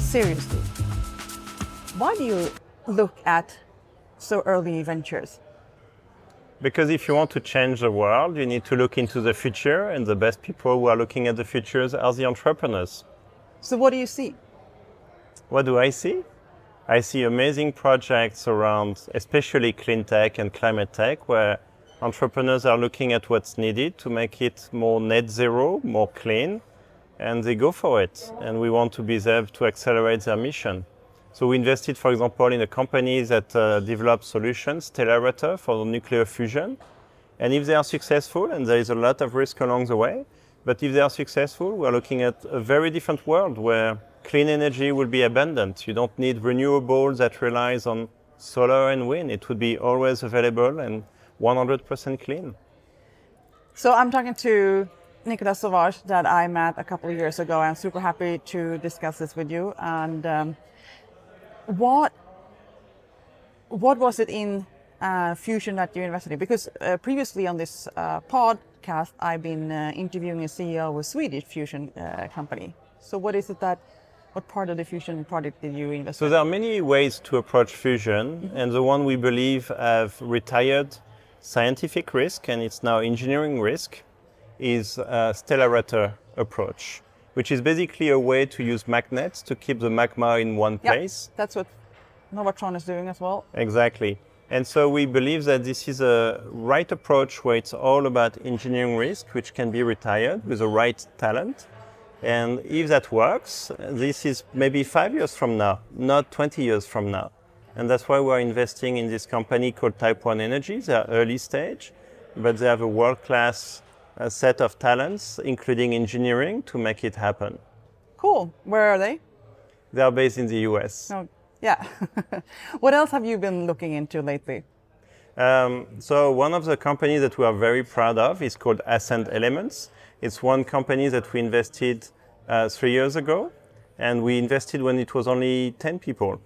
seriously. Why do you look at so early ventures? Because if you want to change the world, you need to look into the future, and the best people who are looking at the futures are the entrepreneurs. So what do you see? What do I see? I see amazing projects around, especially clean tech and climate tech, where entrepreneurs are looking at what's needed to make it more net zero, more clean, and they go for it. And we want to be there to accelerate their mission. So we invested, for example, in a company that develops solutions, Stellarator, for nuclear fusion. And if they are successful, and there is a lot of risk along the way, but if they are successful, we're looking at a very different world where clean energy will be abundant. You don't need renewables that relies on solar and wind. It would be always available and 100% clean. So I'm talking to Nicolas Sauvage that I met a couple of years ago. I'm super happy to discuss this with you. And what was it in Fusion that you invested in? Because previously on this podcast, I've been interviewing a CEO of a Swedish fusion company. So what part of the fusion project did you invest in? So there are many ways to approach fusion, and the one we believe have retired scientific risk, and it's now engineering risk, is Stellarator approach, which is basically a way to use magnets to keep the magma in one place. That's what Novatron is doing as well. Exactly. And so we believe that this is a right approach where it's all about engineering risk, which can be retired with the right talent. And if that works, this is maybe 5 years from now, not 20 years from now. And that's why we're investing in this company called Type One Energy. They are early stage, but they have a world-class set of talents, including engineering, to make it happen. Cool. Where are they? They are based in the US. Oh, yeah. What else have you been looking into lately? So one of the companies that we are very proud of is called Ascent Elements. It's one company that we invested 3 years ago, and we invested when it was only 10 people.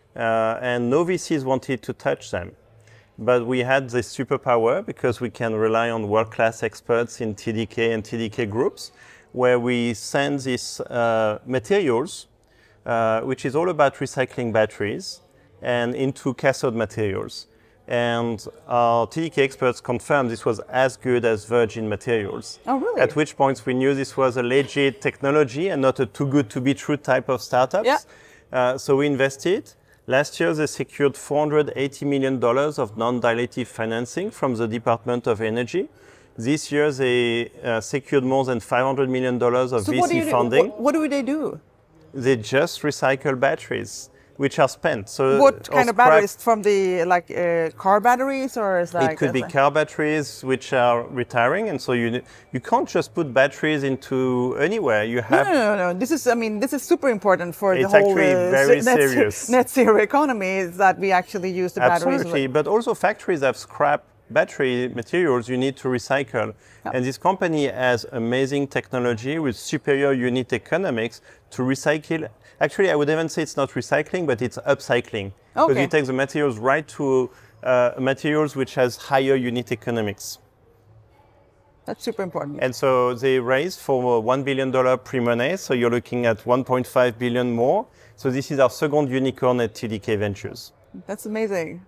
And no VCs wanted to touch them. But we had this superpower because we can rely on world-class experts in TDK and TDK groups, where we send these materials, which is all about recycling batteries, and into cathode materials. And our TDK experts confirmed this was as good as virgin materials. Oh, really? At which point we knew this was a legit technology and not a too good to be true type of startups. Yeah. So we invested. Last year, they secured $480 million of non-dilutive financing from the Department of Energy. This year, they secured more than $500 million of VC funding. What do they do? They just recycle batteries, which are spent. So what kind of batteries? From the car batteries, or is it could be car batteries which are retiring, and so you can't just put batteries into anywhere. You have no. This is super important for the whole. It's actually very serious. Net zero economy is that we actually use the batteries. Absolutely, but also factories have scrap battery materials you need to recycle. Yep. And this company has amazing technology with superior unit economics to recycle. Actually, I would even say it's not recycling, but it's upcycling. Okay. Because you take the materials right to materials which has higher unit economics. That's super important. And so they raised for $1 billion pre-money, so you're looking at 1.5 billion more. So this is our second unicorn at TDK Ventures. That's amazing.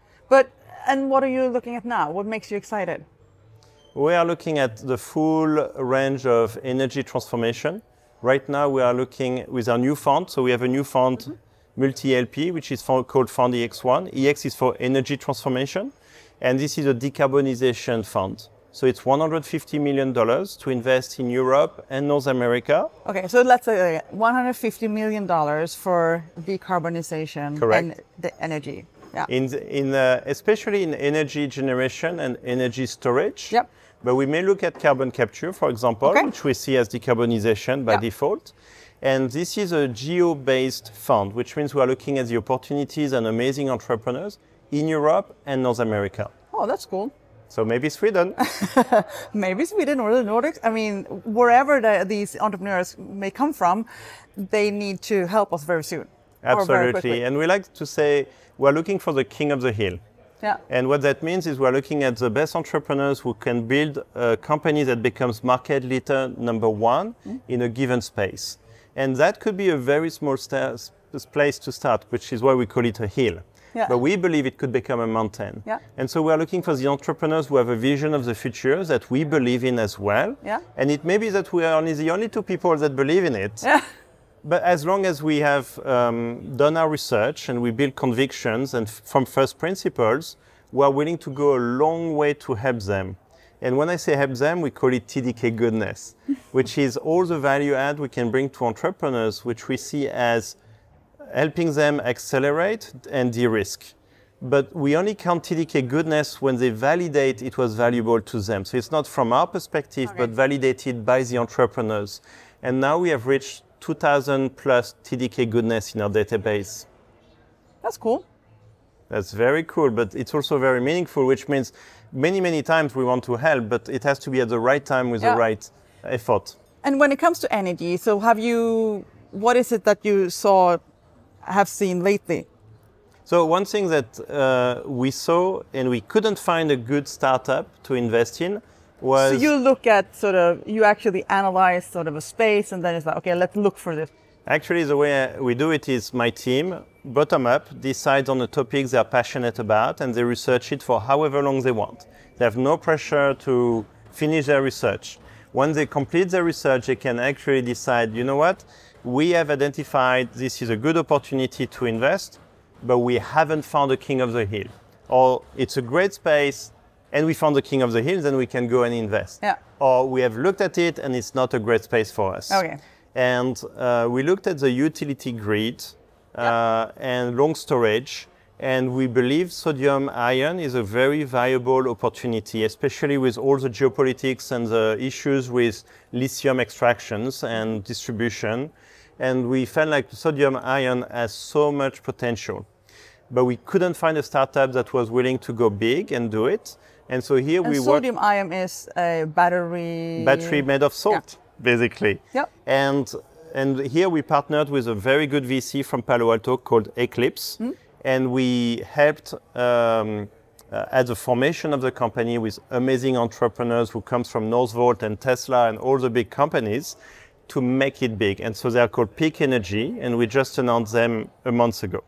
And what are you looking at now? What makes you excited? We are looking at the full range of energy transformation. Right now, we are looking with our new fund. So we have a new fund, multi-LP, which is called Fund EX1. EX is for energy transformation. And this is a decarbonization fund. So it's $150 million to invest in Europe and North America. Okay, so let's say $150 million for decarbonization. Correct. And the energy. Yeah. Especially in energy generation and energy storage. Yep. But we may look at carbon capture, for example, which we see as decarbonization by default. And this is a geo-based fund, which means we are looking at the opportunities and amazing entrepreneurs in Europe and North America. Oh, that's cool. So maybe Sweden. Maybe Sweden or the Nordics. I mean, wherever these entrepreneurs may come from, they need to help us very soon. Absolutely. And we like to say we're looking for the king of the hill. Yeah. And what that means is we're looking at the best entrepreneurs who can build a company that becomes market leader number one in a given space. And that could be a very small place to start, which is why we call it a hill. Yeah. But we believe it could become a mountain. Yeah. And so we are looking for the entrepreneurs who have a vision of the future that we believe in as well. Yeah. And it may be that we are only the only two people that believe in it. Yeah. But as long as we have done our research and we build convictions and from first principles, we are willing to go a long way to help them. And when I say help them, we call it TDK goodness, which is all the value add we can bring to entrepreneurs, which we see as helping them accelerate and de-risk. But we only count TDK goodness when they validate it was valuable to them. So it's not from our perspective, but validated by the entrepreneurs. And now we have reached 2,000 plus TDK goodness in our database. That's cool. That's very cool, but it's also very meaningful, which means many times we want to help, but it has to be at the right time with the right effort. And when it comes to energy, so what is it that you have seen lately? So one thing that we saw and we couldn't find a good startup to invest in was... So you look at you actually analyze sort of a space and then it's like, okay, let's look for this. Actually, the way we do it is my team, bottom up, decides on the topics they are passionate about and they research it for however long they want. They have no pressure to finish their research. When they complete their research, they can actually decide, you know what, we have identified this is a good opportunity to invest, but we haven't found the king of the hill. Or it's a great space and we found the king of the hill, then we can go and invest. Yeah. Or we have looked at it and it's not a great space for us. Okay. And we looked at the utility grid and long storage, and we believe sodium-ion is a very viable opportunity, especially with all the geopolitics and the issues with lithium extractions and distribution. And we felt like sodium-ion has so much potential. But we couldn't find a startup that was willing to go big and do it. And so here we work... Sodium-ion is a battery... Battery made of salt. Basically. Yep. And here we partnered with a very good VC from Palo Alto called Eclipse. And we helped at the formation of the company with amazing entrepreneurs who comes from Northvolt and Tesla and all the big companies to make it big. And so they are called Peak Energy, and we just announced them a month ago.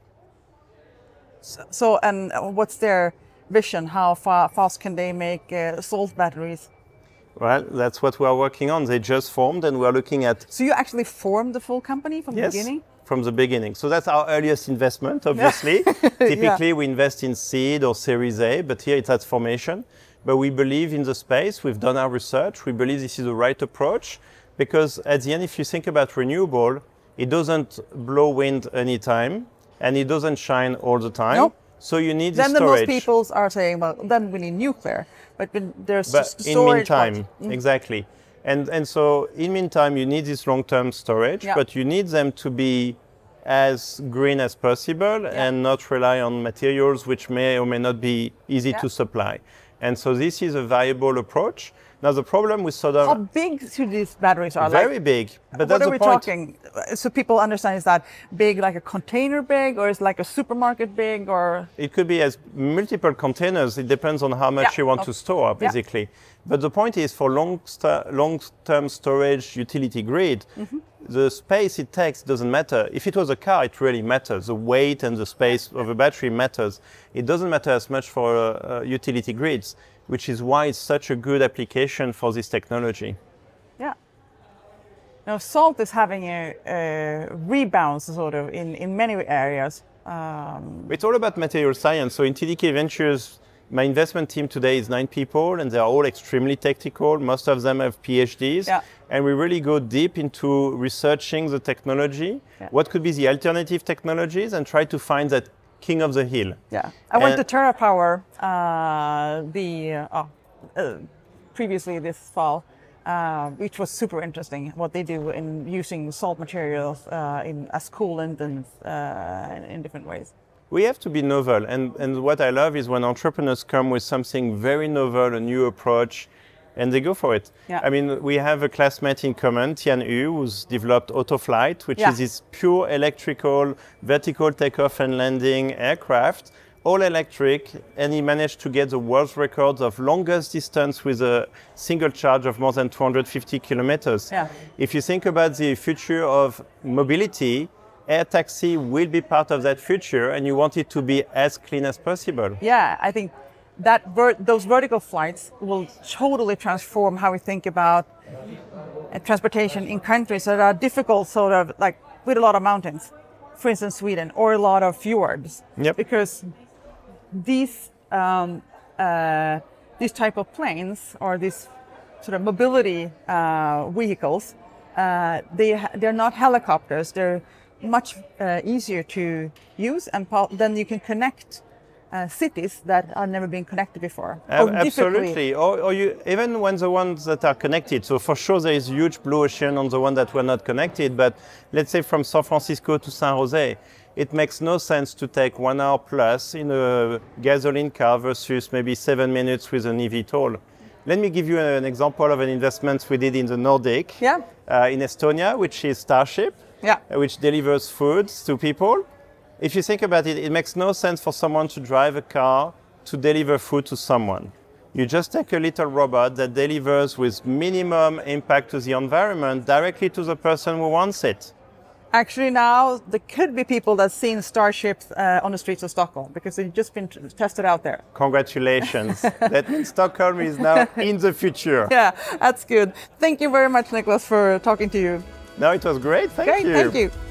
So, and what's their vision? How fast can they make salt batteries? Well, that's what we are working on. They just formed and we are looking at... So you actually formed the full company from the beginning? From the beginning. So that's our earliest investment, obviously. Typically, we invest in seed or Series A, but here it's at formation. But we believe in the space. We've done our research. We believe this is the right approach because at the end, if you think about renewable, it doesn't blow wind anytime and it doesn't shine all the time. Nope. So you need then the storage. Then most people are saying, well, then we need nuclear. But there's just storage. In meantime, exactly. And so in meantime, you need this long-term storage, but you need them to be as green as possible and not rely on materials which may or may not be easy to supply. And so this is a viable approach. Now the problem with soda... How big should these batteries are? Very big. But what are we talking? So people understand, is that big like a container big, or is it like a supermarket big, or? It could be as multiple containers. It depends on how much you want to store, basically. But the point is for long-term storage utility grid, the space it takes doesn't matter. If it was a car, it really matters. The weight and the space of a battery matters. It doesn't matter as much for utility grids, which is why it's such a good application for this technology. Yeah. Now, salt is having a rebound sort of in many areas. It's all about material science. So in TDK Ventures, my investment team today is 9 people, and they're all extremely technical. Most of them have PhDs. Yeah. And we really go deep into researching the technology, what could be the alternative technologies, and try to find that king of the hill. Yeah, I went to TerraPower previously this fall, which was super interesting. What they do in using salt materials as coolant and in different ways. We have to be novel, and what I love is when entrepreneurs come with something very novel, a new approach, and they go for it. Yeah. I mean, we have a classmate in common, Tian Yu, who's developed Autoflight, which is this pure electrical vertical takeoff and landing aircraft, all electric, and he managed to get the world's record of longest distance with a single charge of more than 250 kilometers. Yeah. If you think about the future of mobility, air taxi will be part of that future, and you want it to be as clean as possible. Yeah, I think that those vertical flights will totally transform how we think about transportation in countries that are difficult, sort of like with a lot of mountains, for instance, Sweden, or a lot of fjords. Yep. Because these type of planes or these sort of mobility vehicles, they're not helicopters. They're much easier to use, and then you can connect cities that have never been connected before. Absolutely. Or you, even when the ones that are connected. So for sure there is huge blue ocean on the one that were not connected. But let's say from San Francisco to San Jose, it makes no sense to take 1 hour plus in a gasoline car versus maybe 7 minutes with an eVTOL. Let me give you an example of an investment we did in the Nordic, Yeah. In Estonia, which is Starship, Yeah. which delivers foods to people. If you think about it, it makes no sense for someone to drive a car to deliver food to someone. You just take a little robot that delivers with minimum impact to the environment directly to the person who wants it. Actually, now there could be people that seen Starships on the streets of Stockholm because they've just been tested out there. Congratulations. That means Stockholm is now in the future. Yeah, that's good. Thank you very much, Nicholas, for talking to you. No, it was great. Thank Great, you. thank you.